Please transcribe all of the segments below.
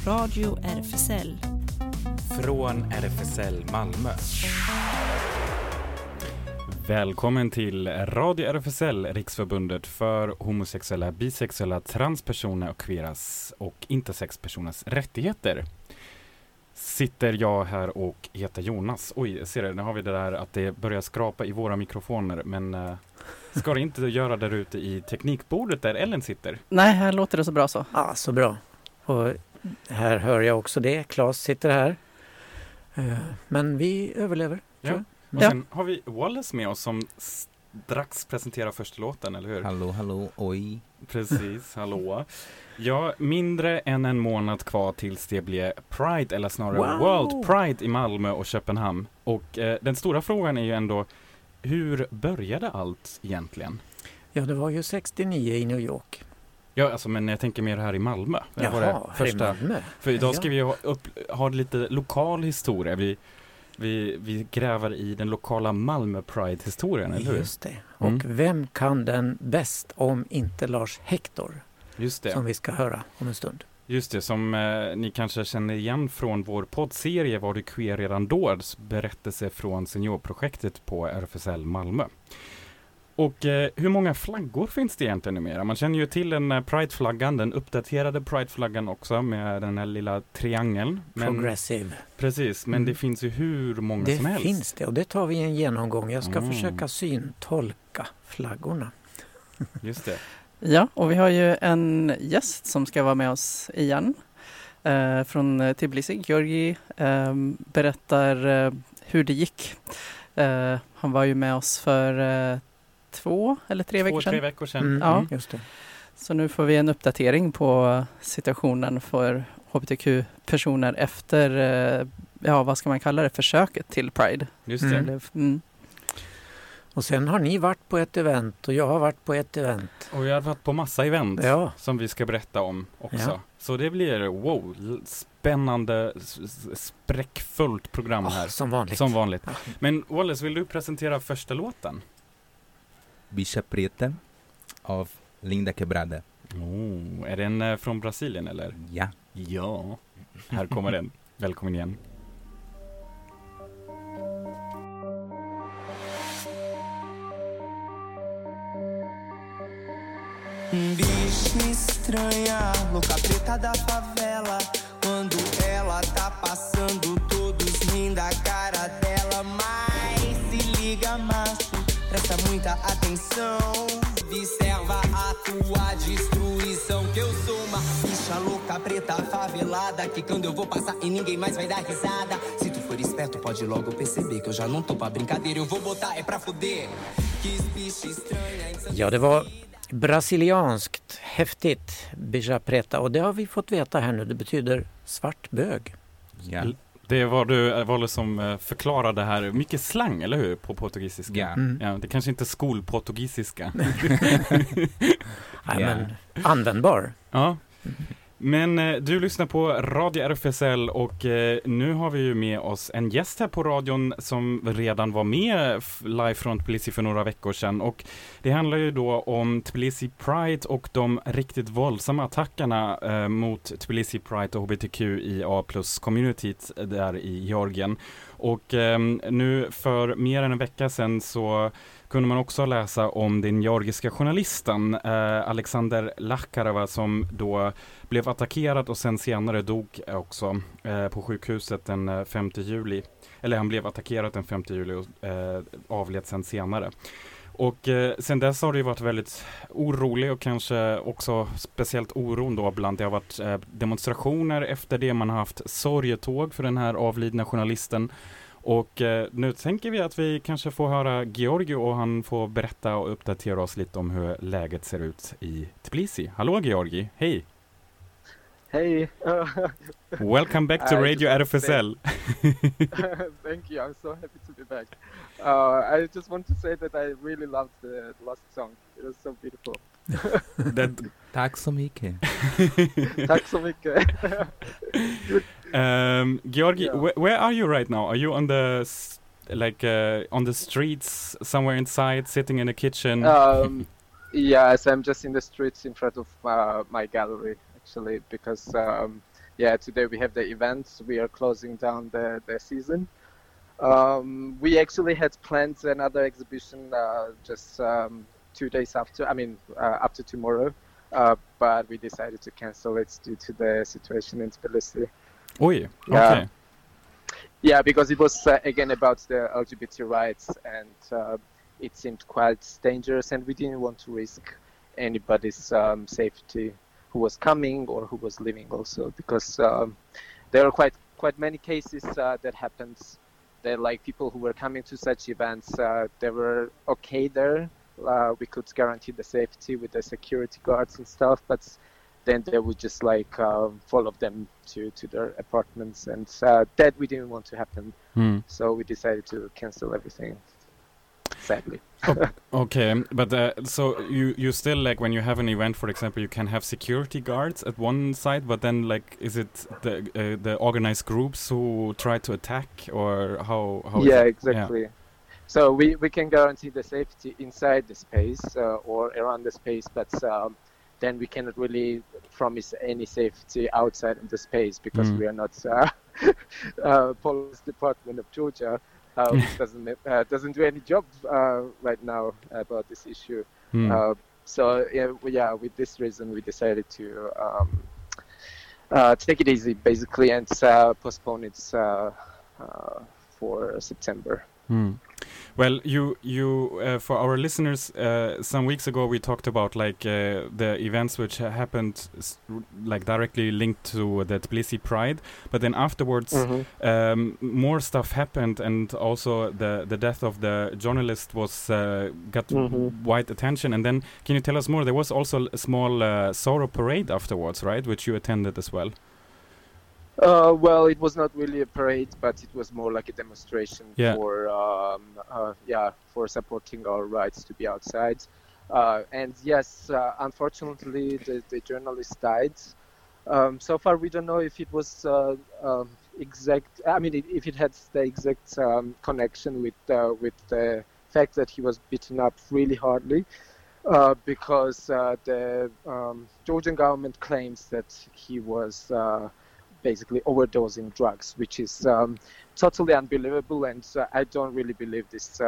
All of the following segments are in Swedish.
Radio RFSL. Från RFSL Malmö. Välkommen till Radio RFSL, Riksförbundet för homosexuella, bisexuella, transpersoner och queeras och intersexpersoners rättigheter. Sitter jag här och heter Jonas. Oj, ser du, nu har vi det där att det börjar skrapa i våra mikrofoner, men ska det inte göra där ute i teknikbordet där Ellen sitter? Nej, här låter det så bra så. Ja, så bra. Och här hör jag också det. Claes sitter här. Men vi överlever. Ja. Och sen har vi Wallace med oss som strax presenterar första låten, eller hur? Hallå, oj. Precis, hallå. Ja, mindre än en månad kvar tills det blir Pride, eller snarare World Pride i Malmö och Köpenhamn. Och den stora frågan är ju ändå, hur började allt egentligen? Ja, det var ju 69 i New York. Ja, alltså, men jag tänker mer här i Malmö. Jaha, var det första, här i Malmö. För idag ska vi ha lite lokal historia. Vi gräver i den lokala Malmö Pride-historien, eller hur? Just det. Och vem kan den bäst om inte Lars Hector? Just det. Som vi ska höra om en stund. Just det, som ni kanske känner igen från vår poddserie Var du queer redan då? Berättelse från seniorprojektet på RFSL Malmö. Och hur många flaggor finns det egentligen numera? Man känner ju till den Pride-flaggan, den uppdaterade Pride-flaggan också med den här lilla triangeln. Progressive. Precis, men det finns ju hur många som helst. Det finns det, och det tar vi i en genomgång. Jag ska försöka syntolka flaggorna. Just det. Ja, och vi har ju en gäst som ska vara med oss igen. Från Tbilisi. Georgi berättar hur det gick. Han var ju med oss för 2 eller 3 veckor sedan. 2-3 veckor sedan. Ja. Just det. Så nu får vi en uppdatering på situationen för hbtq-personer efter, vad ska man kalla det, försöket till Pride. Just det. Och sen har ni varit på ett event och jag har varit på ett event. Och jag har varit på massa event som vi ska berätta om också. Ja. Så det blir spännande, spräckfullt program här. Som vanligt. Ja. Men Wallace, vill du presentera första låten? Bicha Preta av Linda Quebrada. Är den från Brasilien eller? Ja. Ja, här kommer den. Välkommen igen. Bicha estranha, louca preta da favela. Quando ela tá passando, todos riem da cara dela. Mas se liga, macho, presta muita atenção. Observa a tua destruição. Que eu sou uma bicha louca preta favelada, que quando eu vou passar e ninguém mais vai dar risada. Se tu for esperto pode logo perceber que eu já não tô pra brincadeira. Eu vou botar é pra fuder. Que bicha estranha. Ja, det var brasilianskt, häftigt, Bicha Preta. Och det har vi fått veta här nu. Det betyder svart bög. Ja. Det var det som förklarade här. Mycket slang, eller hur? På portugisiska. Ja. Ja, det kanske inte är skolportugisiska. Nej, men användbar. Ja. Men du lyssnar på Radio RFSL och nu har vi ju med oss en gäst här på radion som redan var med live från Tbilisi för några veckor sedan. Och det handlar ju då om Tbilisi Pride och de riktigt våldsamma attackerna mot Tbilisi Pride och HBTQIA+-communityt där i Georgien. Och nu för mer än en vecka sedan så kunde man också läsa om den georgiska journalisten Alexander Lakharova som då blev attackerad och sen senare dog också på sjukhuset den 5 juli. Eller han blev attackerad den 5 juli och avled sen senare. Och sen dess har det ju varit väldigt orolig och kanske också speciellt oron då bland det har varit demonstrationer efter det, man har haft sorgetåg för den här avlidna journalisten. Och nu tänker vi att vi kanske får höra Georgi och han får berätta och uppdatera oss lite om hur läget ser ut i Tbilisi. Hallå Georgi, hej! Hej! Welcome back to Radio RFSL. Thank you, I'm so happy to be back. I just want to say that I really loved the last song. It was so beautiful. Tack så mycket. Tack så mycket. Georgi, where are you right now? Are you on the on the streets somewhere inside, sitting in a kitchen? Yes, I'm just in the streets in front of my gallery actually, because today we have the event. We are closing down the season. We actually had planned another exhibition just 2 days after. After tomorrow, but we decided to cancel it due to the situation in Tbilisi. Oi, okay. Yeah, because it was again about the LGBT rights, and it seemed quite dangerous, and we didn't want to risk anybody's safety who was coming or who was leaving also, because there are quite many cases that happened. That like people who were coming to such events, they were okay there. We could guarantee the safety with the security guards and stuff, but then they would just like follow them to their apartments, and that we didn't want to happen. So we decided to cancel everything, sadly. Okay, but so you still, like, when you have an event, for example, you can have security guards at one side, but then like, is it the organized groups who try to attack, or how Yeah, is it? exactly. Yeah. So we can guarantee the safety inside the space or around the space, but then we cannot really promise any safety outside of the space, because we are not police department of Georgia. Which doesn't do any job right now about this issue. So with this reason, we decided to take it easy, basically, and postpone it for September. Well, you for our listeners, some weeks ago we talked about like the events which happened like directly linked to the Tbilisi Pride, but then afterwards more stuff happened, and also the death of the journalist was got wide attention. And then can you tell us more? There was also a small sorrow parade afterwards, right, which you attended as well? Well, it was not really a parade, but it was more like a demonstration for supporting our rights to be outside. And yes, unfortunately, the journalist died. So far, we don't know if it was exact. I mean, if it had the exact connection with the fact that he was beaten up really hardly, because the Georgian government claims that he was basically overdosing drugs, which is totally unbelievable, and I don't really believe this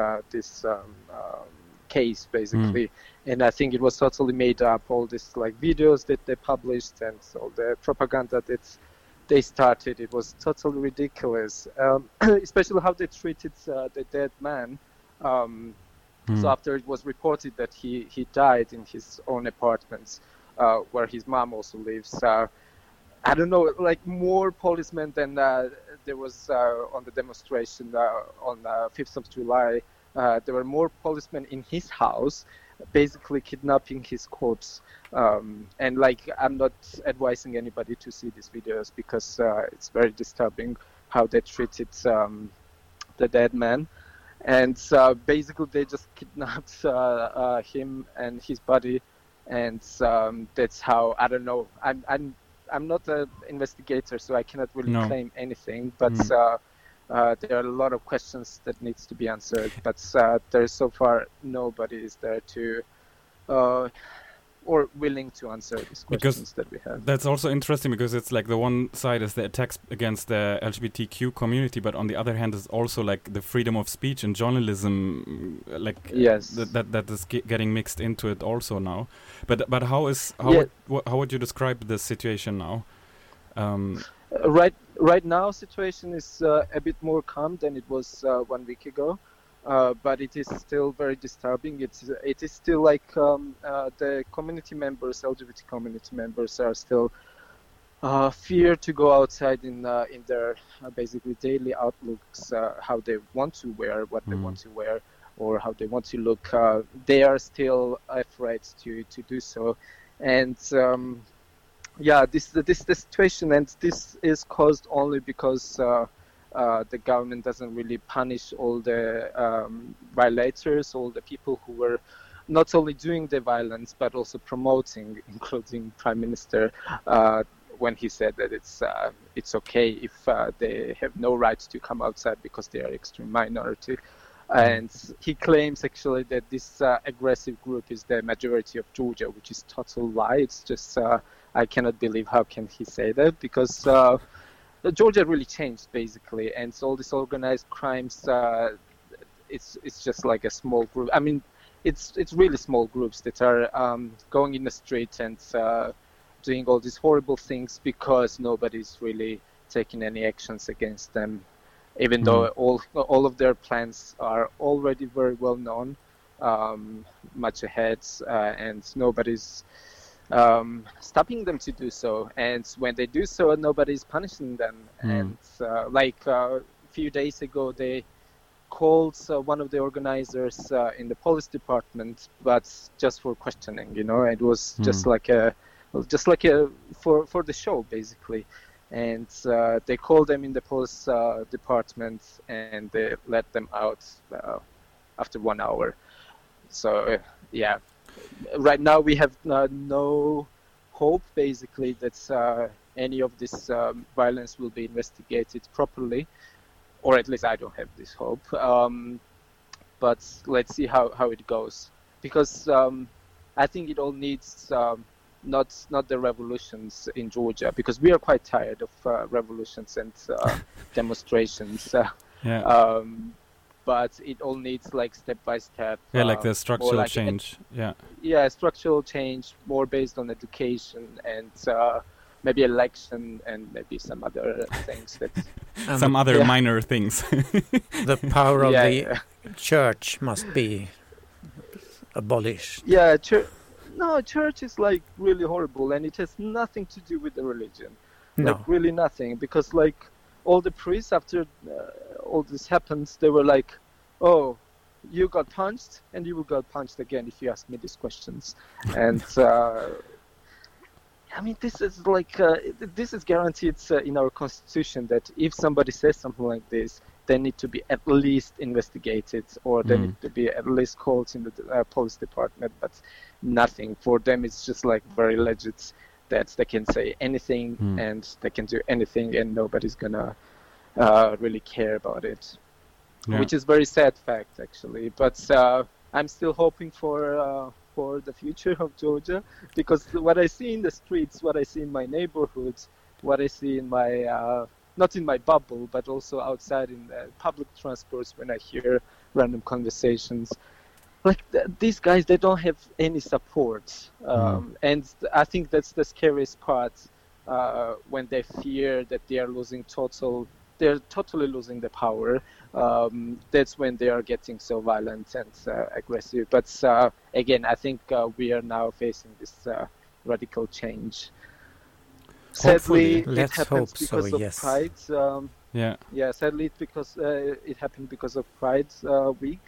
case, basically. And I think it was totally made up. All these like videos that they published and all the propaganda that they started, it was totally ridiculous. Especially how they treated the dead man. So after it was reported that he died in his own apartment, where his mom also lives. I don't know, like more policemen than there was on the demonstration on 5th of July. There were more policemen in his house, basically kidnapping his corpse. And like, I'm not advising anybody to see these videos, because it's very disturbing how they treated the dead man. And basically they just kidnapped him and his body. And that's how, I don't know, I'm not an investigator, so I cannot really claim anything, but there are a lot of questions that needs to be answered, but there's so far nobody is there to or willing to answer these questions that we have. That's also interesting, because it's like the one side is the attacks against the LGBTQ community, but on the other hand is also like the freedom of speech and journalism, like that is getting mixed into it also now. But how would you describe the situation now? Right now, situation is a bit more calm than it was 1 week ago. But it is still very disturbing. It is still like the community members, LGBT community members, are still fear to go outside in their basically daily outlooks, how they want to wear, what they want to wear, or how they want to look. They are still afraid to do so, and this the situation, and this is caused only because. The government doesn't really punish all the violators, all the people who were not only doing the violence but also promoting, including Prime Minister, when he said that it's okay if they have no right to come outside because they are extreme minority. And he claims actually that this aggressive group is the majority of Georgia, which is total lie. It's just I cannot believe how can he say that, because Georgia really changed basically, and so all these organized crimes, it's just like a small group. I mean, it's really small groups that are going in the street and doing all these horrible things because nobody's really taking any actions against them, even though all of their plans are already very well known, much ahead, and nobody's stopping them to do so. And when they do so, nobody's punishing them. And like a few days ago, they called one of the organizers in the police department, but just for questioning, you know. It was just like a for the show basically. And they called them in the police department, and they let them out after 1 hour. So yeah, right now we have no hope basically that any of this violence will be investigated properly, or at least I don't have this hope. But let's see how it goes, because I think it all needs not the revolutions in Georgia, because we are quite tired of revolutions and demonstrations. But it all needs like step by step. Like the structural change. Structural change, more based on education and maybe election and maybe some other things that some other minor things. The power of the church must be abolished. Yeah, church is like really horrible, and it has nothing to do with the religion. No. Like really nothing, because like all the priests after all this happens, they were like, "Oh, you got punched, and you will get punched again if you ask me these questions." And I mean, this is like this is guaranteed in our constitution that if somebody says something like this, they need to be at least investigated, or they need to be at least called in the police department. But nothing for them. It's just like very legit that they can say anything and they can do anything, and nobody's gonna really care about it, which is very sad fact actually. But I'm still hoping for the future of Georgia, because what I see in the streets, what I see in my neighborhood, what I see in my not in my bubble, but also outside in the public transports when I hear random conversations, like these guys, they don't have any support, and I think that's the scariest part, when they fear that they're totally losing the power. That's when they are getting so violent and aggressive. But again, I think we are now facing this radical change. Sadly, it happens because of Pride. Sadly, it's because it happened because of Pride Week.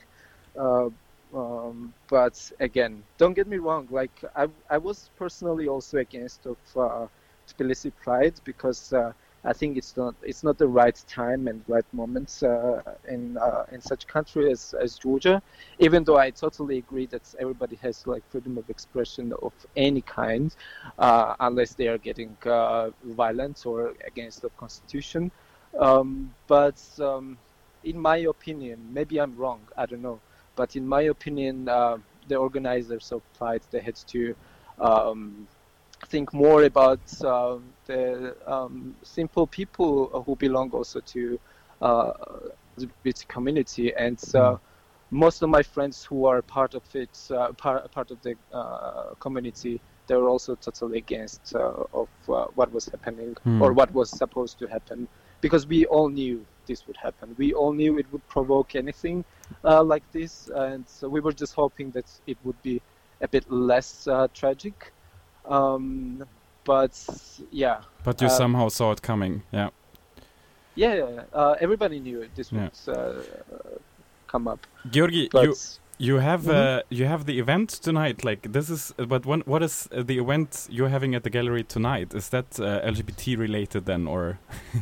But again, don't get me wrong. Like I was personally also against of Tbilisi Pride, because I think it's not the right time and right moment in such country as Georgia. Even though I totally agree that everybody has like freedom of expression of any kind, unless they are getting violent or against the constitution. But in my opinion, maybe I'm wrong, I don't know. But in my opinion, the organizers of Pride, they had to think more about the simple people who belong also to the LGBT community. And most of my friends who are part of it, part of the community, they were also totally against of what was happening or what was supposed to happen, because we all knew this would happen. We all knew it would provoke anything like this, and so we were just hoping that it would be a bit less tragic. But you somehow saw it coming. Everybody knew this would come up. Georgi, you have the event tonight. Like this is, but what is the event you're having at the gallery tonight? Is that LGBT related then, or?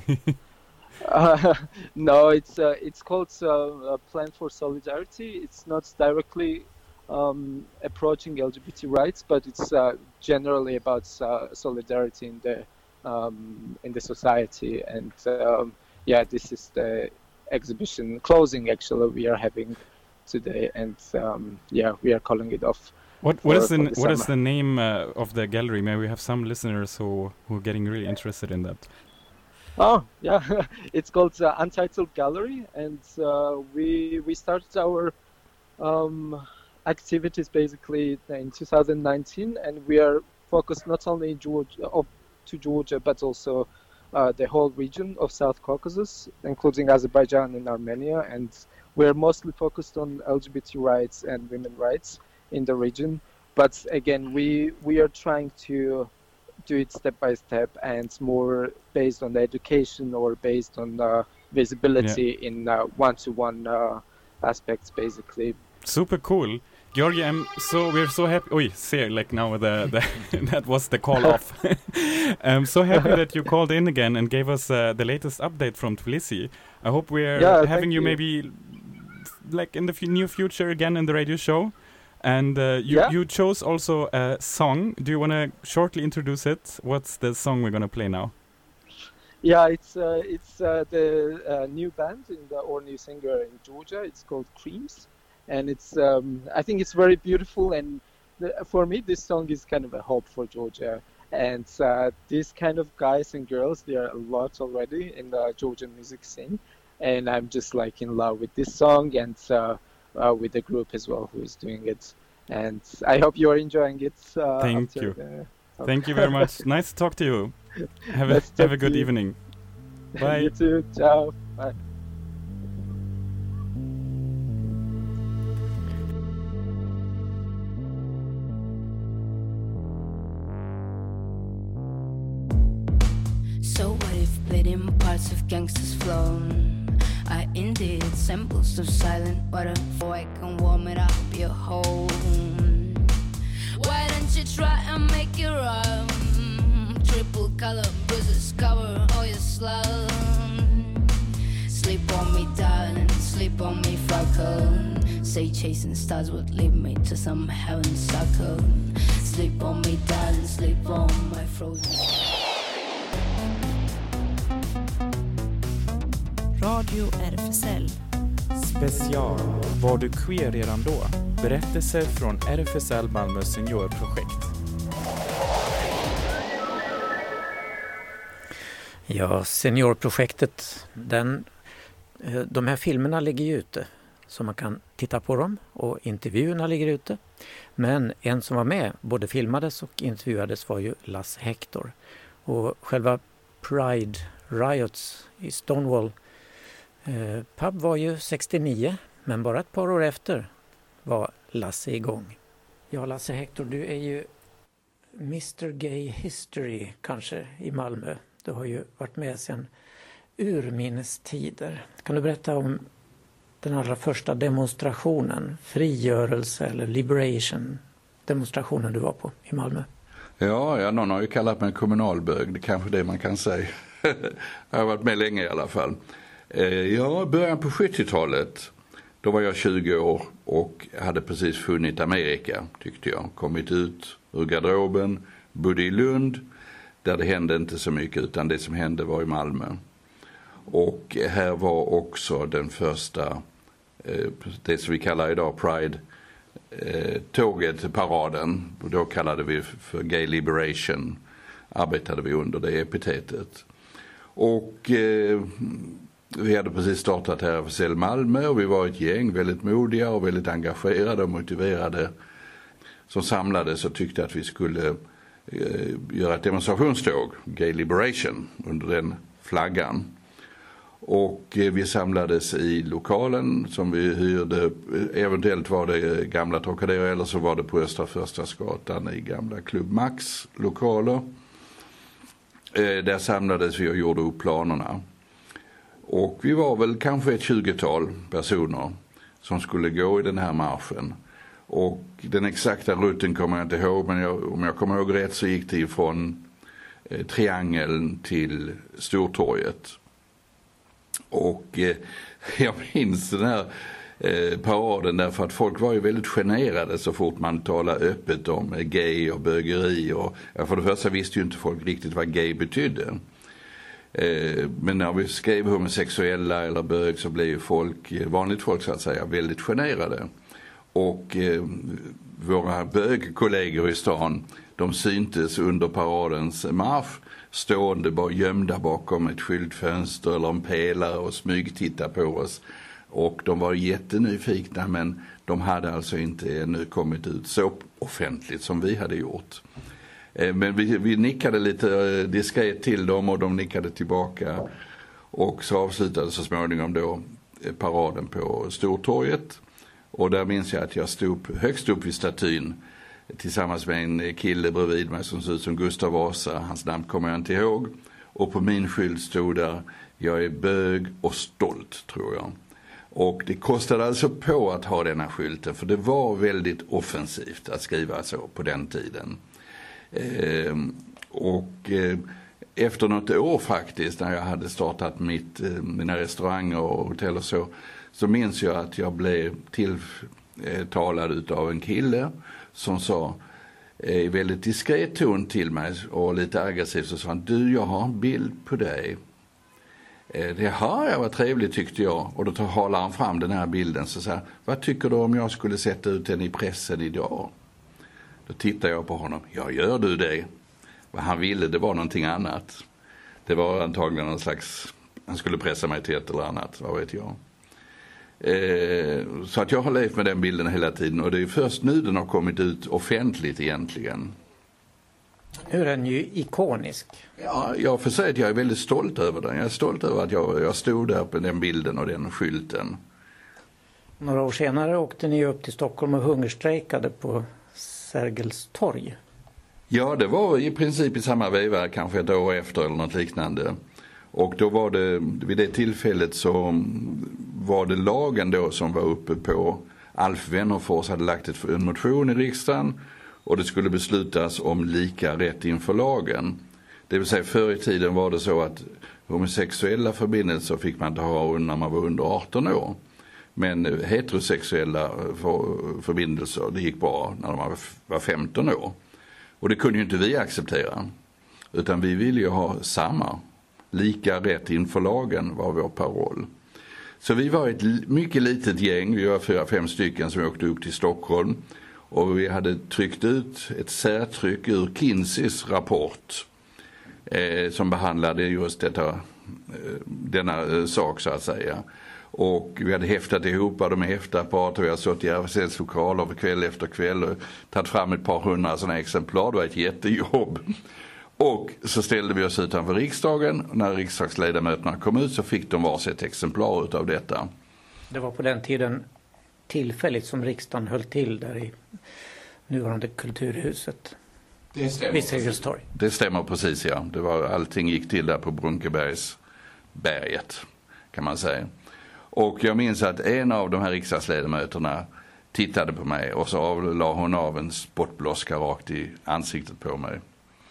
No, it's called Plan for Solidarity. It's not directly approaching LGBT rights, but it's generally about solidarity in the society. And this is the exhibition closing actually we are having today, and we are calling it off. What is the name of the gallery? Maybe we have some listeners who are getting really interested in that. Oh yeah, it's called Untitled Gallery, and we started our activities basically in 2019, and we are focused not only in Georgia but also the whole region of South Caucasus, including Azerbaijan and Armenia, and we're mostly focused on LGBT rights and women's rights in the region. But again, we are trying to do it step by step and more based on the education or based on visibility in one-to-one aspects, basically. Super cool. Georgi, we're so happy. Like now that was the call off. I'm so happy that you called in again and gave us the latest update from Tbilisi. I hope we're having you maybe like in the near future again in the radio show. And you chose also a song. Do you want to shortly introduce it? What's the song we're going to play now? Yeah, it's the new band or new singer in Georgia. It's called Creams. And it's I think it's very beautiful, and for me this song is kind of a hope for Georgia. And these kind of guys and girls, there are a lot already in the Georgian music scene, and I'm just like in love with this song and with the group as well who is doing it. And I hope you are enjoying it. Thank you. Thank you very much. Nice to talk to you. Have a good evening. Bye. You too. Ciao. Bye. So what if bleeding parts of gangsters flown? I indeed samples of silent water, so I can warm it up your home. Why don't you try and make it run? Triple color bruises cover all your slum. Sleep on me, darling, sleep on me, freckle. Say chasing stars would lead me to some heaven circle. Sleep on me, darling, sleep on my frozen. Radio RFSL. Special. Var du queer redan då? Berättelser från RFSL Malmö seniorprojekt. Ja, seniorprojektet, de här filmerna ligger ju ute så man kan titta på dem, och intervjuerna ligger ute. Men en som var med, både filmades och intervjuades, var ju Lasse Hector. Och själva Pride Riots i Stonewall pub var ju 69, men bara ett par år efter var Lasse igång. Ja, Lasse Hector, du är ju Mr. Gay History kanske i Malmö. Du har ju varit med sedan urminnes tider. Kan du berätta om den allra första demonstrationen, frigörelse eller liberation, demonstrationen du var på i Malmö? Ja, någon har ju kallat mig kommunalbög, det är kanske det man kan säga. Jag har varit med länge i alla fall. Början på 70-talet, då var jag 20 år och hade precis funnit Amerika, tyckte jag. Kommit ut ur garderoben, bodde i Lund, där det hände inte så mycket, utan det som hände var i Malmö. Och här var också den första, det som vi kallar idag Pride, tåget, paraden. Och då kallade vi för Gay Liberation, arbetade vi under det epitetet. Och vi hade precis startat här för RFSL Malmö, och vi var ett gäng väldigt modiga och väldigt engagerade och motiverade som samlades och tyckte att vi skulle göra ett demonstrationståg, Gay Liberation, under den flaggan. Och vi samlades i lokalen som vi hyrde, eventuellt var det gamla Trocadero eller så var det på Östra Förstadsgatan i gamla Club Max lokaler. Där samlades vi och gjorde upp planerna. Och vi var väl kanske ett 20-tal personer som skulle gå i den här marschen. Och den exakta rutten kommer jag inte ihåg, men om jag kommer ihåg rätt så gick det från Triangeln till Stortorget. Och jag minns den här paraden därför att folk var ju väldigt generade så fort man talade öppet om gay och bögeri. Och för det första visste ju inte folk riktigt vad gay betydde. Men när vi skrev homosexuella eller bög så blev vanligt folk så att säga, väldigt generade. Och våra bögkollegor i stan, de syntes under paradens marsch stående bara gömda bakom ett skyltfönster eller en pelare och smygtitta på oss. Och de var jättenyfikna, men de hade alltså inte ännu kommit ut så offentligt som vi hade gjort. Men vi nickade lite diskret till dem och de nickade tillbaka. Och så avslutade så småningom då paraden på Stortorget. Och där minns jag att jag stod högst upp vid statyn tillsammans med en kille bredvid mig som såg ut som Gustav Vasa. Hans namn kommer jag inte ihåg. Och på min skylt stod där: jag är bög och stolt, tror jag. Och det kostade alltså på att ha denna skylten, för det var väldigt offensivt att skriva så på den tiden. Efter något år faktiskt, när jag hade startat mina restauranger och hotell och så minns jag att jag blev tilltalad av en kille som sa i väldigt diskret ton till mig och lite aggressivt, så sa han: du, jag har en bild på dig. Det har jag, var trevligt, tyckte jag. Och då håller han fram den här bilden så säger: vad tycker du om jag skulle sätta ut den i pressen idag? Då tittar jag på honom: ja, gör du det? Vad han ville, det var någonting annat. Det var antagligen någon slags, han skulle pressa mig till ett eller annat, vad vet jag. Så att jag har levt med den bilden hela tiden, och det är först nu den har kommit ut offentligt egentligen. Nu är den ju ikonisk. Ja, jag får säga att jag är väldigt stolt över den. Jag är stolt över att jag stod där på den bilden och den skylten. Några år senare åkte ni upp till Stockholm och hungerstrejkade på Sergels torg. Ja, det var i princip i samma veva, kanske ett år efter eller något liknande. Och då var det, vid det tillfället så var det lagen då som var uppe på. Alf Wennerfors hade lagt en motion i riksdagen och det skulle beslutas om lika rätt inför lagen. Det vill säga, förr i tiden var det så att homosexuella förbindelser fick man inte ha när man var under 18 år. Men heterosexuella förbindelser, det gick bra när man var 15 år. Och det kunde ju inte vi acceptera. Utan vi ville ju ha lika rätt inför lagen var vår paroll. Så vi var ett mycket litet gäng, vi var 4-5 stycken som åkte upp till Stockholm. Och vi hade tryckt ut ett särtryck ur Kinseys rapport som behandlade just denna sak så att säga. Och vi hade häftat ihop de häftapparater, vi hade stått i RFSLs lokaler kväll efter kväll och tagit fram ett par hundra sådana exemplar. Det var ett jättejobb. Och så ställde vi oss utanför riksdagen. När riksdagsledamöterna kom ut så fick de varsitt exemplar utav detta. Det var på den tiden tillfälligt som riksdagen höll till där i nuvarande Kulturhuset. Det stämmer. Vid Sergels torg. Det stämmer precis, ja. Allting gick till där på Brunkebergsberget, kan man säga. Och jag minns att en av de här riksdagsledamöterna tittade på mig och så la hon av en spottblåska rakt i ansiktet på mig.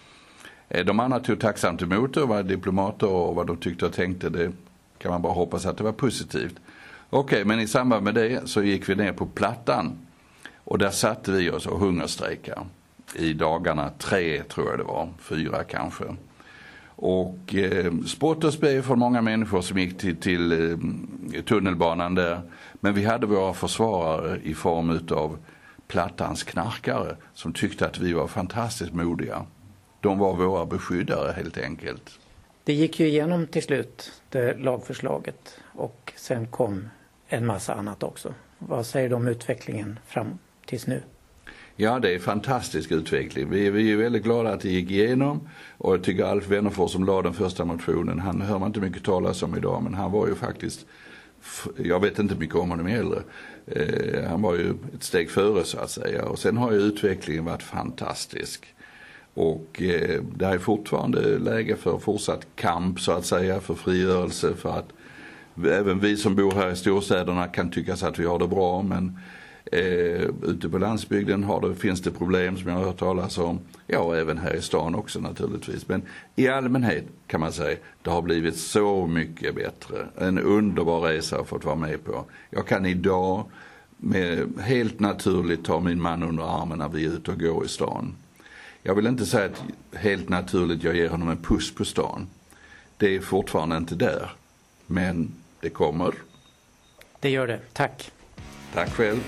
De andra tog tacksamt emot och var diplomater, och vad de tyckte och tänkte, det kan man bara hoppas att det var positivt. Okej, men i samband med det så gick vi ner på Plattan och där satte vi oss och hungerstrejkade i dagarna 3, tror jag det var, 4 kanske. Och spott och spe för många människor som gick till tunnelbanan där. Men vi hade våra försvarare i form av Plattans knarkare som tyckte att vi var fantastiskt modiga. De var våra beskyddare helt enkelt. Det gick ju igenom till slut, det lagförslaget, och sen kom en massa annat också. Vad säger du om utvecklingen fram tills nu? Ja, det är fantastisk utveckling. Vi är ju väldigt glada att det gick igenom, och jag tycker Alf Wennerfors som lade den första motionen, han hör man inte mycket talas om idag, men han var ju faktiskt, jag vet inte mycket om honom heller, han var ju ett steg före så att säga, och sen har ju utvecklingen varit fantastisk. Och det är fortfarande läge för fortsatt kamp så att säga, för frigörelse, för att även vi som bor här i storstäderna kan tycka så att vi har det bra, men ute på landsbygden finns det problem som jag har hört talas om. Ja, och även här i stan också naturligtvis. Men i allmänhet kan man säga det har blivit så mycket bättre. En underbar resa har fått vara med på. Jag kan idag helt naturligt ta min man under armen när vi är ute och går i stan. Jag vill inte säga att helt naturligt jag ger honom en puss på stan. Det är fortfarande inte där. Men det kommer. Det gör det. Tack. Tack själv.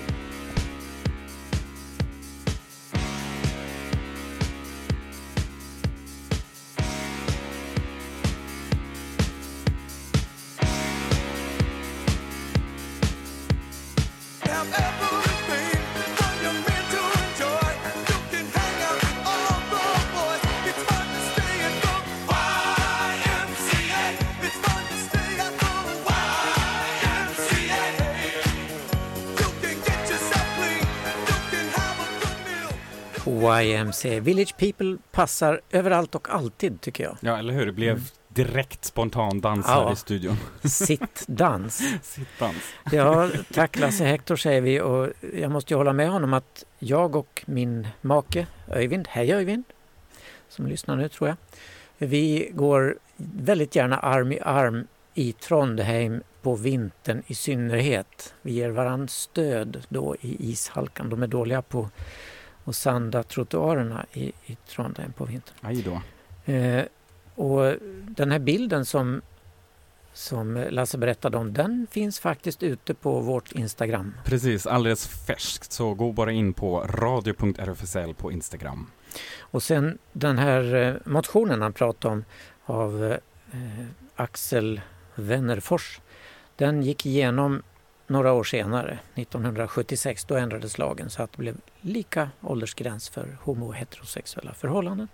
YMCA. Village People passar överallt och alltid, tycker jag. Ja, eller hur? Det blev direkt spontan dans här i studion. Sittdans. Sittdans. Ja, tack Lasse Hector säger vi, och jag måste ju hålla med honom att jag och min make Öyvind, hej Öyvind, som lyssnar nu tror jag, vi går väldigt gärna arm i arm i Trondheim på vintern i synnerhet. Vi ger varandra stöd då i ishalkan. De är dåliga på att sanda trottoarerna i Trondheim på vintern. Aj då. Och den här bilden som Lasse berättade om, den finns faktiskt ute på vårt Instagram. Precis, alldeles färskt. Så gå bara in på radio.rfsl på Instagram. Och sen den här motionen han pratade om av Axel Wennerfors, den gick igenom några år senare, 1976, då ändrades lagen så att det blev lika åldersgräns för homo- och heterosexuella förhållanden.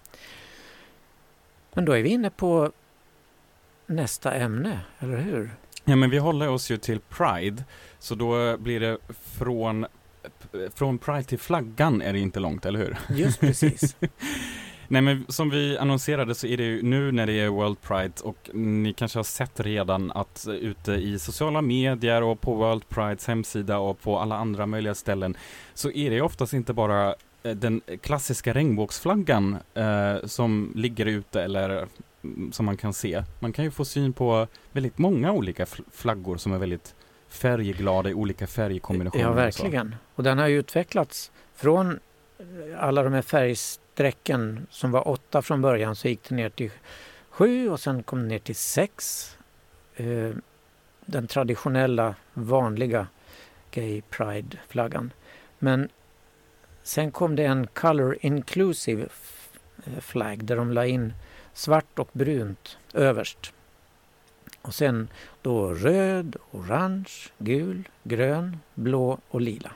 Men då är vi inne på nästa ämne, eller hur? Ja, men vi håller oss ju till Pride, så då blir det från Pride till flaggan är det inte långt, eller hur? Just precis. Nej, men som vi annonserade så är det ju nu när det är World Pride, och ni kanske har sett redan att ute i sociala medier och på World Prides hemsida och på alla andra möjliga ställen så är det oftast inte bara den klassiska regnbågsflaggan som ligger ute eller som man kan se. Man kan ju få syn på väldigt många olika flaggor som är väldigt färgglada i olika färgkombinationer. Ja, verkligen. Och den har ju utvecklats från alla de här färgsträcken som var 8 från början, så gick det ner till 7 och sen kom det ner till 6. Den traditionella, vanliga Gay Pride-flaggan. Men sen kom det en Color Inclusive flag där de la in svart och brunt överst. Och sen då röd, orange, gul, grön, blå och lila.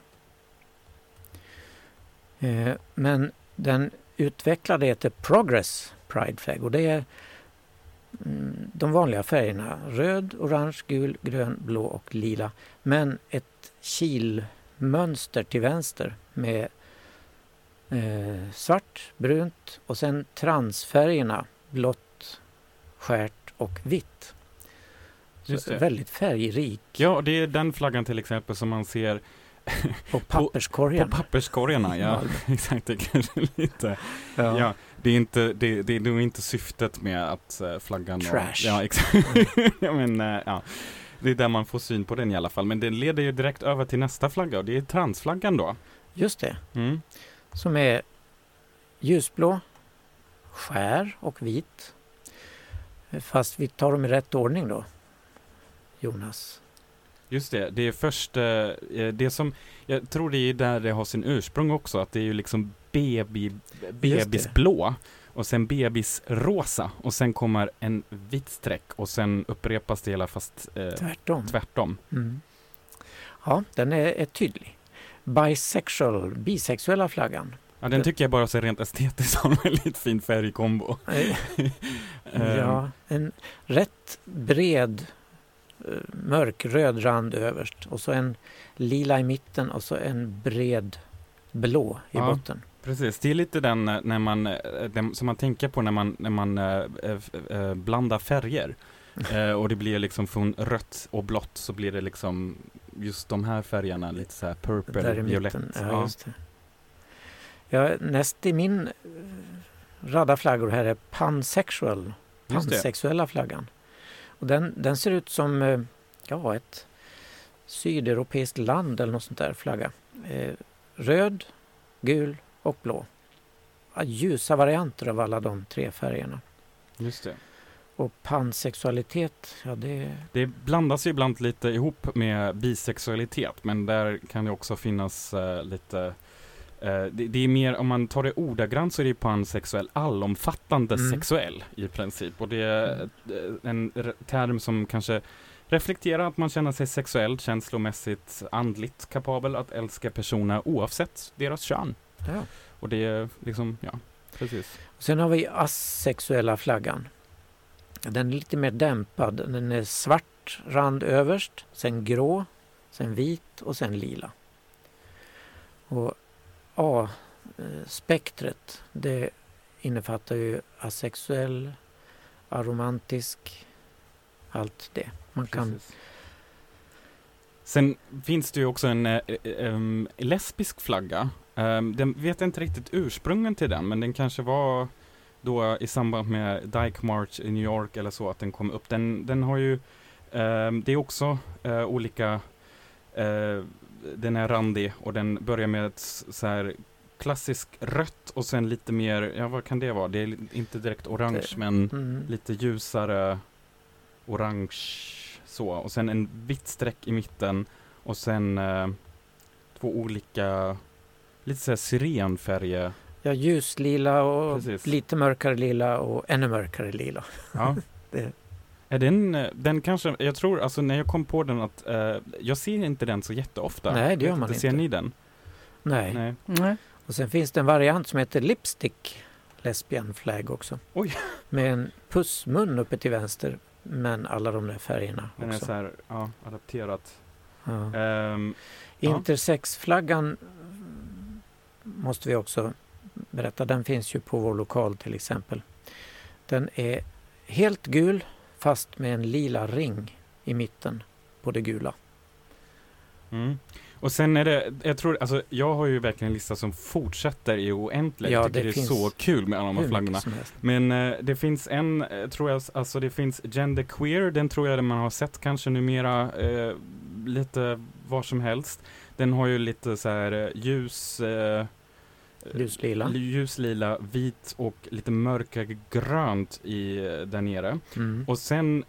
Men den utvecklade heter Progress Pride Flag, och det är de vanliga färgerna röd, orange, gul, grön, blå och lila. Men ett kilmönster till vänster med svart, brunt och sen transfärgerna blått, skärt och vitt. Så väldigt färgrik. Ja, det är den flaggan till exempel som man ser på papperskorgarna. På papperskorgarna, ja. Exakt, det kanske lite. Ja, det är nog inte syftet med att flaggan... Trash. Ja, exakt. Ja, men, ja. Det är där man får syn på den i alla fall. Men det leder ju direkt över till nästa flagga, och det är transflaggan då. Just det. Som är ljusblå, skär och vit. Fast vi tar dem i rätt ordning då, Jonas. Just det, det är först det som, jag tror det är där det har sin ursprung också, att det är ju liksom bebisblå och sen bebisrosa och sen kommer en vit streck och sen upprepas det hela fast tvärtom. Ja, den är tydlig. Bisexuella flaggan. Ja, den tycker jag bara så rent estetiskt har en väldigt fin färgkombo. Ja, en rätt bred mörkröd rand överst och så en lila i mitten och så en bred blå i botten. Precis, det är lite den när man som man tänker på när man blandar färger. Och det blir liksom från rött och blått så blir det liksom just de här färgerna lite så här purple, violett. Ja, just det. Ja, näst i min radda flaggor här är pansexuella flaggan. Och den ser ut som ett sydeuropeiskt land eller något sånt där flagga. Röd, gul och blå. Ljusa varianter av alla de 3 färgerna. Just det. Och pansexualitet, ja Det blandas ju ibland lite ihop med bisexualitet, men där kan det också finnas lite... det är mer, om man tar det ordagrant så är det pansexuell, allomfattande sexuell i princip. Och det är en term som kanske reflekterar att man känner sig sexuellt, känslomässigt, andligt kapabel att älska personer oavsett deras kön. Ja. Och det är liksom, ja, precis. Sen har vi asexuella flaggan. Den är lite mer dämpad. Den är svart rand överst, sen grå, sen vit och sen lila. Och A-spektret, det innefattar ju asexuell, aromantisk, allt det. Man kan... Sen finns det ju också en lesbisk flagga. Den vet inte riktigt ursprungen till den, men den kanske var då i samband med Dyke March i New York eller så att den kom upp. Den har ju, det är också olika, den är randig och den börjar med ett så här klassisk rött och sen lite mer, ja vad kan det vara? Det är inte direkt orange men lite ljusare orange så. Och sen en vitt streck i mitten och sen två olika lite så här syrenfärger. Ja, ljuslila och precis. Lite mörkare lila och ännu mörkare lila. Ja. Är den kanske, jag tror alltså när jag kom på den att jag ser inte den så jätteofta. Nej, det gör man inte. Ser ni den? Nej. Och sen finns det en variant som heter Lipstick Lesbian Flag också. Oj. Med en pussmun uppe till vänster, men alla de där färgerna den också. Den är så här, ja, adapterat. Ja. Intersexflaggan måste vi också berätta. Den finns ju på vår lokal till exempel. Den är helt gul fast med en lila ring i mitten på det gula. Och sen är det, jag tror, alltså jag har ju verkligen en lista som fortsätter i oändligt. Ja, jag tycker det är så kul med alla de här flaggorna. Men det finns en, tror jag, alltså det finns genderqueer, den tror jag man har sett kanske numera lite var som helst. Den har ju lite så här ljuslila, vit och lite mörkare grönt i där nere. Och sen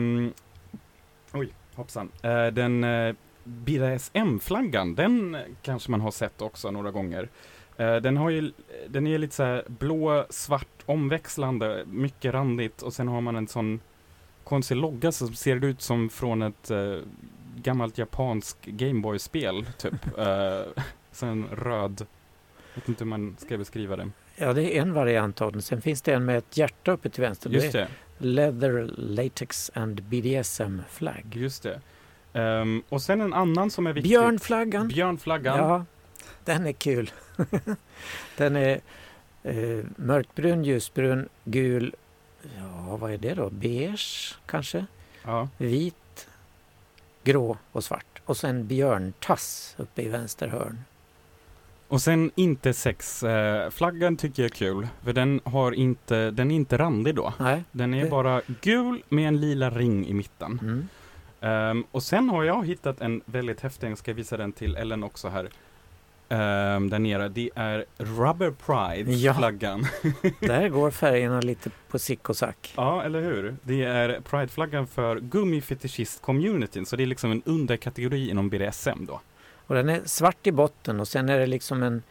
den BDSM-flaggan, den kanske man har sett också några gånger. Den är lite så här blå, svart, omväxlande, mycket randigt och sen har man en sån konstig logga som ser ut som från ett gammalt japansk Gameboy-spel typ. Sen röd. Jag vet inte hur man ska beskriva det. Ja, det är en variant av den. Sen finns det en med ett hjärta uppe till vänster. Just det. Leather, Latex and BDSM flag. Just det. Och sen en annan som är viktig. Björnflaggan. Ja, den är kul. Den är mörkbrun, ljusbrun, gul. Ja, vad är det då? Beige kanske? Ja. Vit, grå och svart. Och sen björntass uppe i vänster hörn. Och sen inte flaggan tycker jag är kul. För den är inte randig då. Nej. Den är bara gul med en lila ring i mitten. Och sen har jag hittat en väldigt häftig, jag ska visa den till Ellen också här. Där nere, det är Rubber Pride-flaggan. Där går färgerna lite på sick och sack. Ja, eller hur? Det är Pride-flaggan för gummifetischist-communityn. Så det är liksom en underkategori inom BDSM då. Och den är svart i botten och sen är det liksom en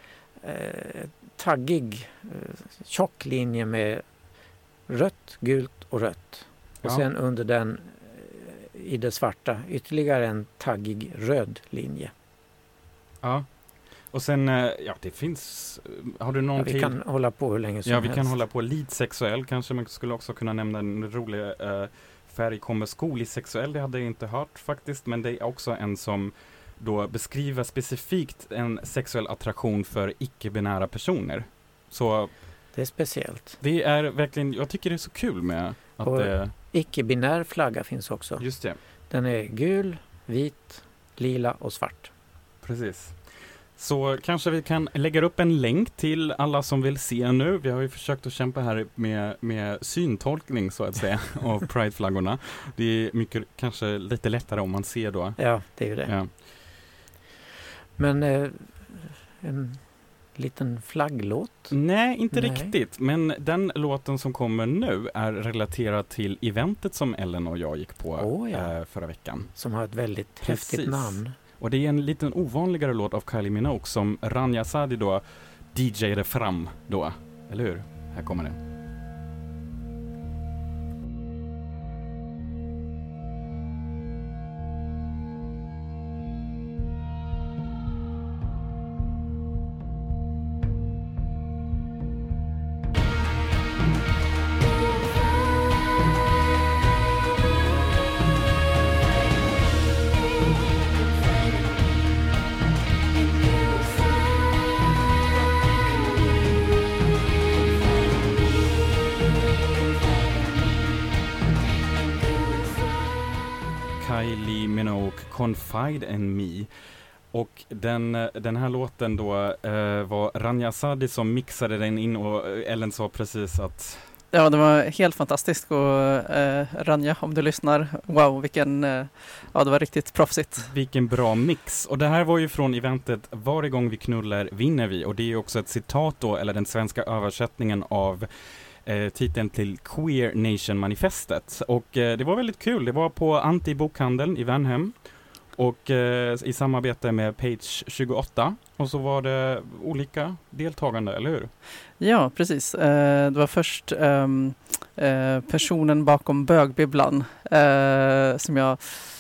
taggig tjock linje med rött, gult och rött. Och sen under den i det svarta ytterligare en taggig röd linje. Ja. Och sen, det finns, har du någon vi kan hålla på hur länge som helst. Ja, vi kan hålla på lite sexuell. Kanske man skulle också kunna nämna en rolig färg kommer skolisexuell. Det hade jag inte hört faktiskt. Men det är också en som då beskriver specifikt en sexuell attraktion för icke-binära personer. Så det är speciellt. Det är verkligen, jag tycker det är så kul med att icke-binär flagga finns också. Just det. Den är gul, vit, lila och svart. Precis. Så kanske vi kan lägga upp en länk till alla som vill se nu. Vi har ju försökt att kämpa här med syntolkning så att säga av Pride-flaggorna. Det är mycket, kanske lite lättare om man ser då. Ja, det är ju det. Ja. Men liten flagglåt? Nej, inte riktigt. Men den låten som kommer nu är relaterad till eventet som Ellen och jag gick på förra veckan. Som har ett väldigt häftigt namn. Och det är en liten ovanligare låt av Kylie Minogue som Rania Sadi då DJade fram då. Eller hur? Här kommer den. Kylie Minogue, Confide in Me. Och den här låten då var Rania Sadi som mixade den in och Ellen sa precis att... Ja, det var helt fantastiskt och Rania, om du lyssnar, wow, vilken, det var riktigt proffsigt. Vilken bra mix. Och det här var ju från eventet Varje gång vi knullar vinner vi. Och det är ju också ett citat då, eller den svenska översättningen av titeln till Queer Nation-manifestet. Och det var väldigt kul. Det var på Anti-bokhandeln i Värnhem. Och i samarbete med Page 28. Och så var det olika deltagande, eller hur? Ja, precis. Det var först personen bakom bögbibblan som jag...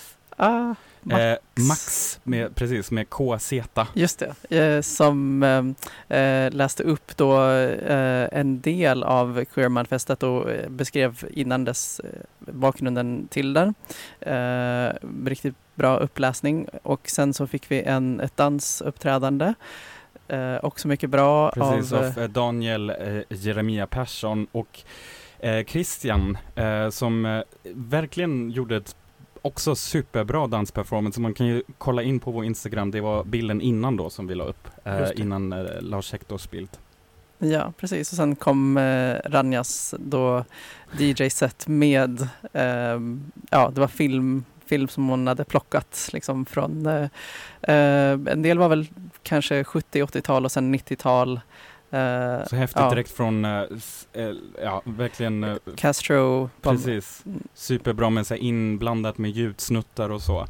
Max med KZ. Just det, som läste upp då en del av Queer-manifestet och beskrev innan dess bakgrunden till den. Riktigt bra uppläsning och sen så fick vi ett dansuppträdande. Också mycket bra. Precis, av Daniel Jeremia Persson och Christian som verkligen gjorde ett också superbra dansperformance. Man kan ju kolla in på vår Instagram. Det var bilden innan då som vi la upp. Innan Lars Hektors bild. Ja, precis. Och sen kom Ranjas då DJ-set med det var film som hon hade plockat liksom från en del var väl kanske 70-80-tal och sen 90-tal. Så häftigt direkt från verkligen Castro. Precis. Superbra med sig inblandat med ljudsnuttar och så.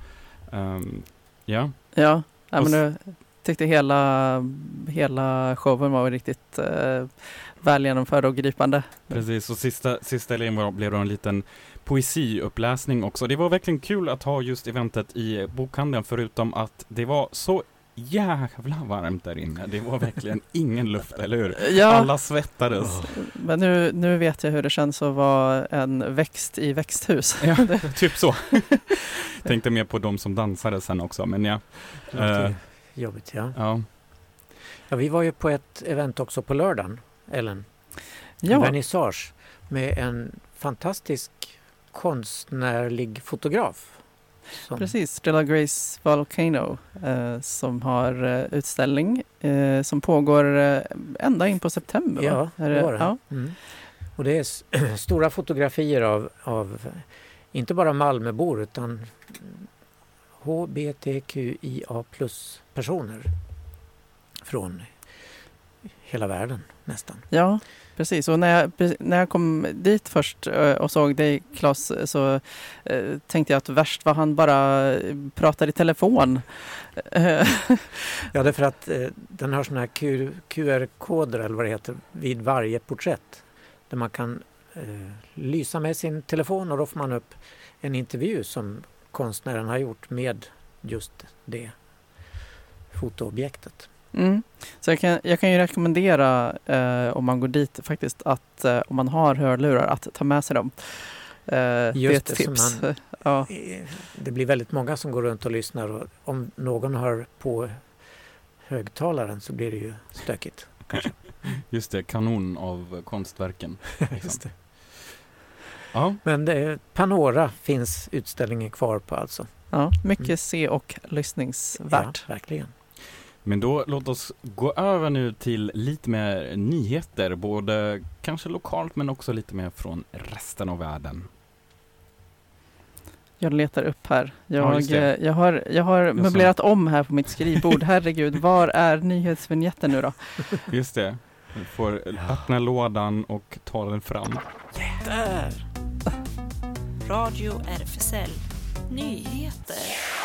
Men jag tyckte hela showen var riktigt väl genomförd och gripande. Precis, och sista delen blev det en liten poesiuppläsning också. Det var verkligen kul att ha just eventet i bokhandeln, förutom att det var så jävla varmt där inne. Det var verkligen ingen luft, eller hur? Ja. Alla svettades. Men nu vet jag hur det känns att vara en växt i växthus. Ja, typ så. Tänkte mer på de som dansade sen också, men ja. Jobbigt, ja. Ja, vi var ju på ett event också på lördagen, Ellen. Ja. Vernissage med en fantastisk konstnärlig fotograf. Precis, Stella Grace Volcano som har utställning som pågår ända in på september. Ja, det var det. Ja. Mm. Och det är stora fotografier av inte bara Malmöbor utan HBTQIA+ personer från hela världen nästan. Ja, precis. Och när jag kom dit först och såg dig, Claes, så tänkte jag att värst var han bara pratade i telefon. Ja, det är för att den har såna här QR-koder eller vad det heter vid varje porträtt där man kan lysa med sin telefon och då får man upp en intervju som konstnären har gjort med just det fotoobjektet. Mm. Så jag kan ju rekommendera om man går dit faktiskt att om man har hörlurar att ta med sig dem. Det är ett tips. Det blir väldigt många som går runt och lyssnar och om någon har på högtalaren så blir det ju stökigt. Kanske. Just det, kanon av konstverken. Just det. Ja. Men Panora finns utställningen kvar på alltså. Ja, mycket se- och lyssningsvärt. Ja, verkligen. Men då låt oss gå över nu till lite mer nyheter, både kanske lokalt men också lite mer från resten av världen. Jag letar upp här. Ja, just det. Jag har möblerat om här på mitt skrivbord. Herregud, var är nyhetsvignetten nu då? Just det. Du får öppna lådan och ta den fram. Där! Radio RFSL. Nyheter.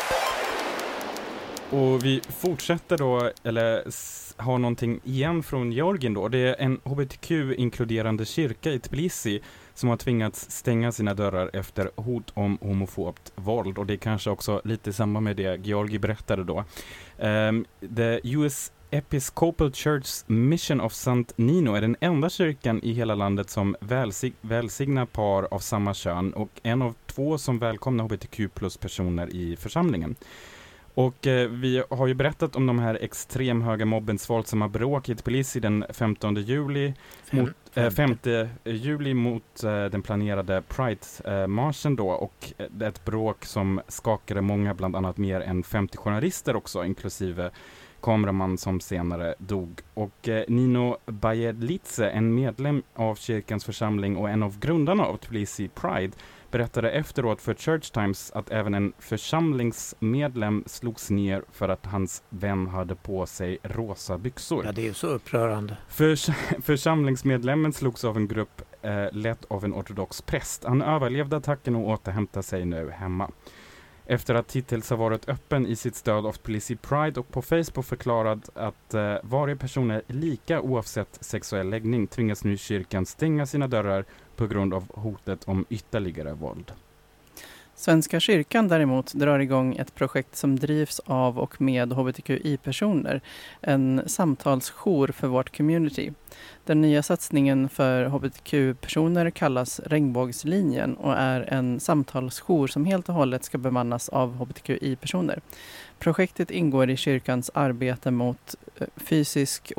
Och vi fortsätter då, eller har någonting igen från Georgien då. Det är en hbtq-inkluderande kyrka i Tbilisi som har tvingats stänga sina dörrar efter hot om homofobt våld. Och det är kanske också lite samma med det Georgi berättade då. The US Episcopal Church's Mission of St. Nino är den enda kyrkan i hela landet som välsignar par av samma kön och en av 2 som välkomnar hbtq+-personer i församlingen. Och vi har ju berättat om de här extremhöga mobbens våldsamma bråk i Tbilisi den 5 juli mot den planerade Pride-marschen då, och ett bråk som skakade många, bland annat mer än 50 journalister också, inklusive kameraman som senare dog. Och Nino Bajedlitze, en medlem av kyrkans församling och en av grundarna av Tbilisi Pride, berättade efteråt för Church Times att även en församlingsmedlem slogs ner för att hans vän hade på sig rosa byxor. Ja, det är ju så upprörande. Församlingsmedlemmen slogs av en grupp ledd av en ortodox präst. Han överlevde attacken och återhämtar sig nu hemma. Efter att hittills ha varit öppen i sitt stöd av Tbilisi Pride och på Facebook förklarat att varje person är lika oavsett sexuell läggning, tvingas nu kyrkan stänga sina dörrar på grund av hotet om ytterligare våld. Svenska kyrkan däremot drar igång ett projekt som drivs av och med hbtqi-personer. En samtalsjour för vårt community. Den nya satsningen för hbtq-personer kallas Regnbågslinjen och är en samtalsjour som helt och hållet ska bemannas av hbtqi-personer. Projektet ingår i kyrkans arbete mot psykisk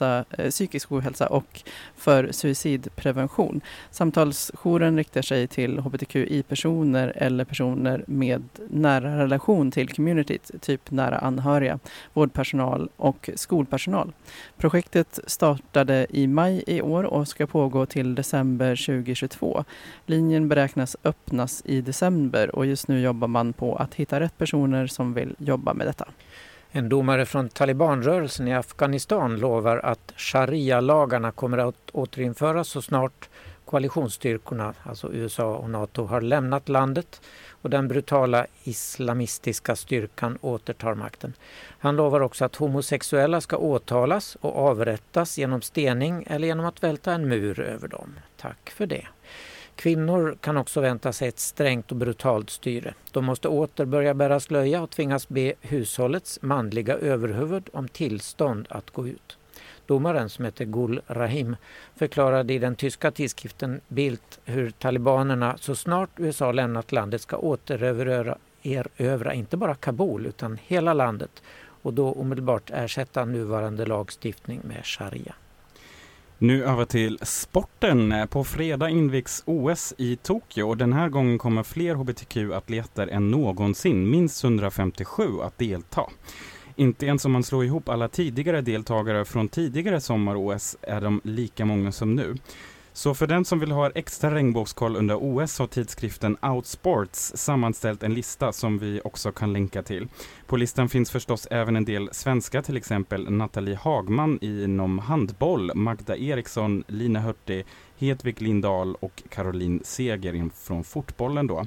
ohälsa och för suicidprevention. Samtalsjouren riktar sig till hbtqi-personer eller personer med nära relation till communityt, typ nära anhöriga, vårdpersonal och skolpersonal. Projektet startade i maj i år och ska pågå till december 2022. Linjen beräknas öppnas i december och just nu jobbar man på att hitta rätt personer som vill jobba med detta. En domare från Talibanrörelsen i Afghanistan lovar att sharia-lagarna kommer att återinföras så snart koalitionsstyrkorna, alltså USA och NATO, har lämnat landet och den brutala islamistiska styrkan återtar makten. Han lovar också att homosexuella ska åtalas och avrättas genom stening eller genom att välta en mur över dem. Tack för det. Kvinnor kan också vänta sig ett strängt och brutalt styre. De måste åter börja bära slöja och tvingas be hushållets manliga överhuvud om tillstånd att gå ut. Domaren, som heter Gul Rahim, förklarade i den tyska tidskriften Bild hur talibanerna så snart USA lämnat landet ska erövra inte bara Kabul utan hela landet och då omedelbart ersätta nuvarande lagstiftning med sharia. Nu över till sporten. På fredag invigs OS i Tokyo och den här gången kommer fler hbtq-atleter än någonsin, minst 157, att delta. Inte ens om man slår ihop alla tidigare deltagare från tidigare sommar-OS är de lika många som nu. Så för den som vill ha extra regnbågskoll under OS har tidskriften Outsports sammanställt en lista som vi också kan länka till. På listan finns förstås även en del svenska, till exempel Nathalie Hagman inom handboll, Magda Eriksson, Lina Hurtig, Hedvig Lindahl och Caroline Seger från fotbollen då.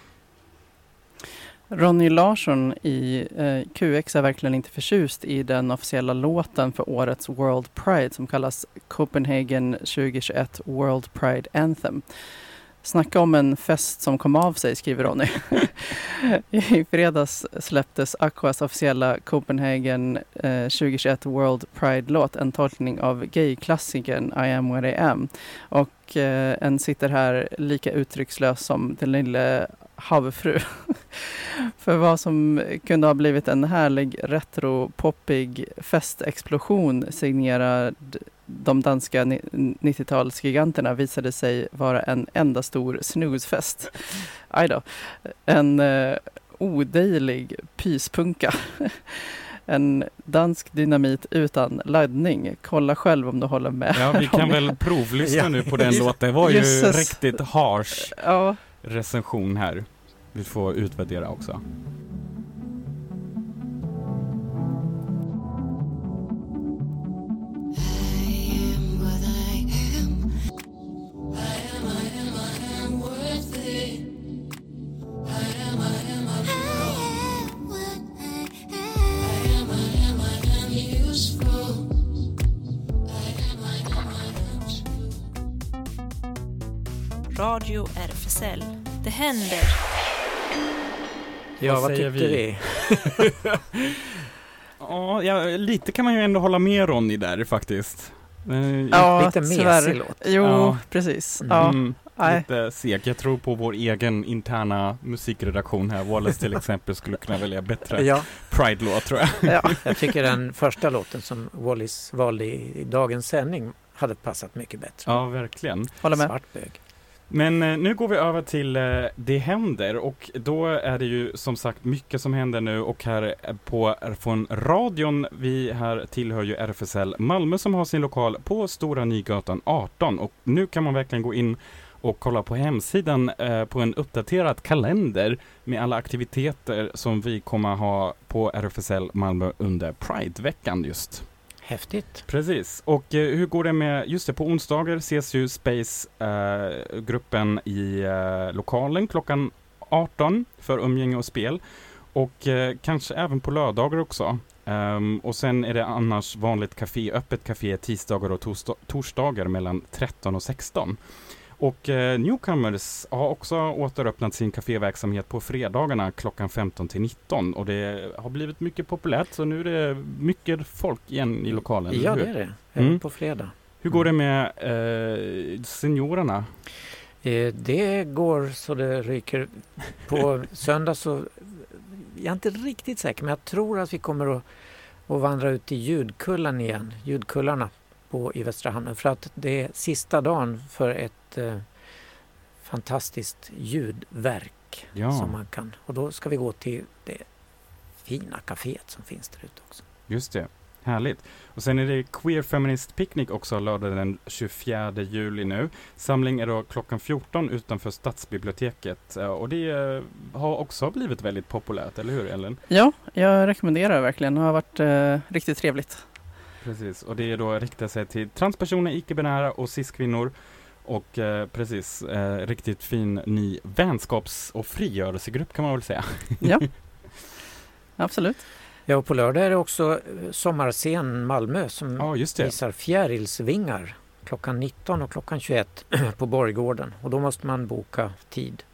Ronny Larsson i QX är verkligen inte förtjust i den officiella låten för årets World Pride som kallas Copenhagen 2021 World Pride Anthem. Snacka om en fest som kom av sig, skriver Ronny. I fredags släpptes Aquas officiella Copenhagen 2021 World Pride-låt, en tolkning av gay-klassikern I am what I am. Och en sitter här lika uttryckslös som den lilla havfru. För vad som kunde ha blivit en härlig retro-poppig festexplosion signerad de danska 90-talsgiganterna visade sig vara en enda stor snusfest. Ajdå. En odejlig pyspunka. En dansk dynamit utan laddning. Kolla själv om du håller med. Ja, vi kan väl provlyssna nu på den låten. Det var ju Jesus. riktigt harsh recension här. vi får utvärdera också. Radio RFSL. Det händer. Ja, vad tyckte vi? Ja, lite kan man ju ändå hålla med Ronny där faktiskt. Ja, lite mesig låt. Jo, ja. Precis. Lite seg. Jag tror på vår egen interna musikredaktion här. Wallace till exempel skulle kunna välja bättre Pride-låt, tror jag. Ja. Jag tycker den första låten som Wallace valde i dagens sändning hade passat mycket bättre. Ja, verkligen. Håller med. Svartbög. Men nu går vi över till Det händer, och då är det ju som sagt mycket som händer nu, och här från radion, vi här tillhör ju RFSL Malmö som har sin lokal på Stora Nygatan 18, och nu kan man verkligen gå in och kolla på hemsidan på en uppdaterad kalender med alla aktiviteter som vi kommer ha på RFSL Malmö under Pride-veckan just. Häftigt. Precis. Och hur går det med, just det, på onsdagar ses ju Space-gruppen i lokalen klockan 18 för umgänge och spel. Och kanske även på lördagar också. Och sen är det annars vanligt öppet café tisdagar och torsdagar mellan 13 och 16. Och Newcomers har också återöppnat sin kaféverksamhet på fredagarna klockan 15 till 19. Och det har blivit mycket populärt, så nu är det mycket folk igen i lokalen. Ja, det är det. Även på fredag. Hur går det med seniorerna? Det går så det ryker. På söndag så jag är inte riktigt säker, men jag tror att vi kommer att vandra ut i ljudkullarna i Västra Hamnen, för att det är sista dagen för ett fantastiskt ljudverk som man kan, och då ska vi gå till det fina kaféet som finns där ute också. Just det, härligt. Och sen är det Queer Feminist Picnic också lördag den 24 juli nu. Samling är då klockan 14 utanför Stadsbiblioteket, och det har också blivit väldigt populärt, eller hur Ellen? Ja, jag rekommenderar verkligen. Det har varit riktigt trevligt. Precis, och det är då riktar sig till transpersoner, icke-binära och cis-kvinnor. Och riktigt fin ny vänskaps- och frigörelsegrupp kan man väl säga. Ja, absolut. Ja, och på lördag är det också Sommarscen Malmö som visar fjärilsvingar klockan 19 och klockan 21 på Borggården. Och då måste man boka tid.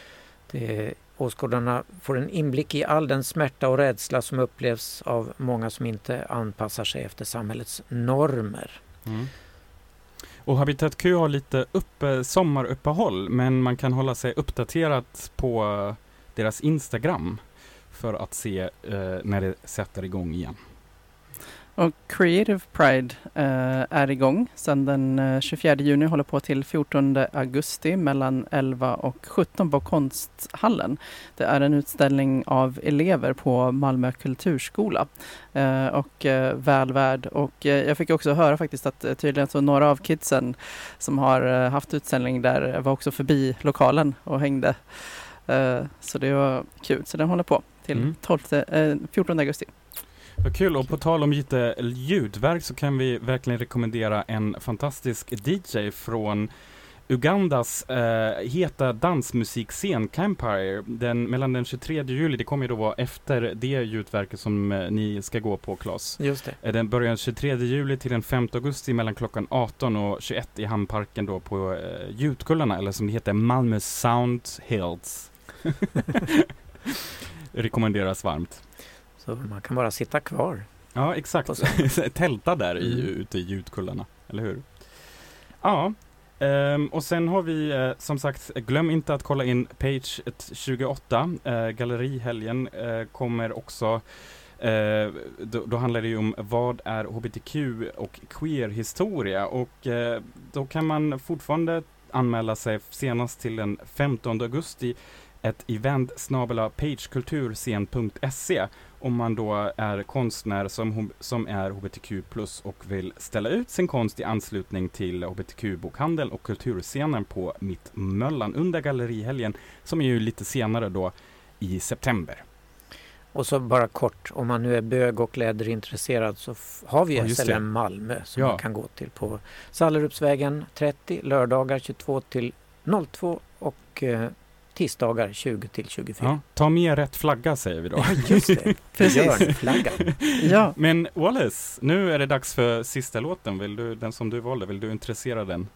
Åskådarna får en inblick i all den smärta och rädsla som upplevs av många som inte anpassar sig efter samhällets normer. Mm. Och Habitat Q har lite sommaruppehåll, men man kan hålla sig uppdaterat på deras Instagram för att se när det sätter igång igen. Och Creative Pride är igång sedan den 24 juni, håller på till 14 augusti mellan 11 och 17 på Konsthallen. Det är en utställning av elever på Malmö kulturskola och välvärd. Och jag fick också höra faktiskt att tydligen så några av kidsen som har haft utställning där var också förbi lokalen och hängde. Så det var kul. Så den håller på till 14 augusti. Vad kul, och på tal om lite ljudverk så kan vi verkligen rekommendera en fantastisk DJ från Ugandas heta dansmusikscen Campire. Mellan den 23 juli, det kommer ju då vara efter det ljudverket som ni ska gå på, Claes. Just det. Den börjar den 23 juli till den 5 augusti mellan klockan 18 och 21 i Hamnparken då på ljudkullarna, eller som det heter, Malmö Sound Hills. Rekommenderas varmt. Så man kan bara sitta kvar. Ja, exakt. Tälta där ute i ljudkullarna, eller hur? Ja, och sen har vi som sagt, glöm inte att kolla in Page 28. Gallerihelgen kommer också. Då handlar det ju om vad är hbtq och queer-historia. Och då kan man fortfarande anmäla sig senast till den 15 augusti ett event @pagekulturscen.se. om man då är konstnär som är hbtq+ och vill ställa ut sin konst i anslutning till hbtq-bokhandel och kulturscenen på Mittmöllan under gallerihelgen, som är ju lite senare då i september. Och så bara kort, om man nu är bög och läderintresserad så har vi SLM Malmö som man kan gå till på Sallerupsvägen 30, lördagar 22 till 02 och tisdagar 20 till 24. Ja, ta med rätt flagga säger vi då. Ja, just det. Precis. Flaggan. Ja. Men Wallace, nu är det dags för sista låten. Den som du valde, vill du intressera den?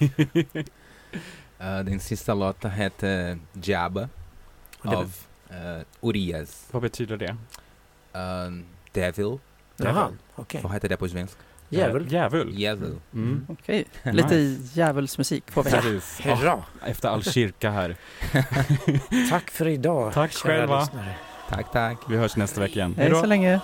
Den sista låten heter Jabba av Urias. Vad betyder det? Devil. Jaha, okej. Vad heter det på svenska? Djävul. Okej, lite djävulsmusik får vi här. Hurra! Efter all kyrka här. Tack för idag. Tack själva. Lyssnare. Tack. Vi hörs nästa vecka igen. Hej så länge.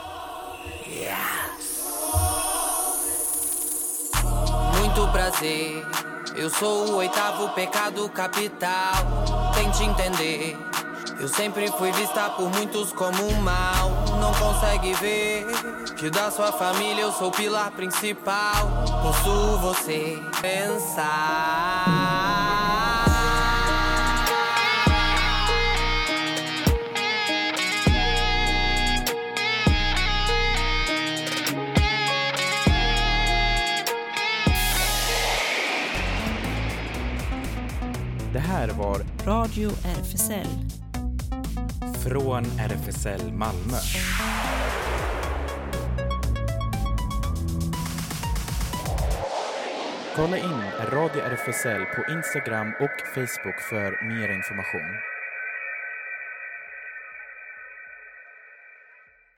Muito prazer. Eu sou o 8º pecado capital. Tente entender. Eu sempre fui vista por muitos como um mal. Não consegue ver que da sua família eu sou o pilar principal. Posso você pensar. Det här var Radio RFSL. Från RFSL Malmö. Kolla in Radio RFSL på Instagram och Facebook för mer information.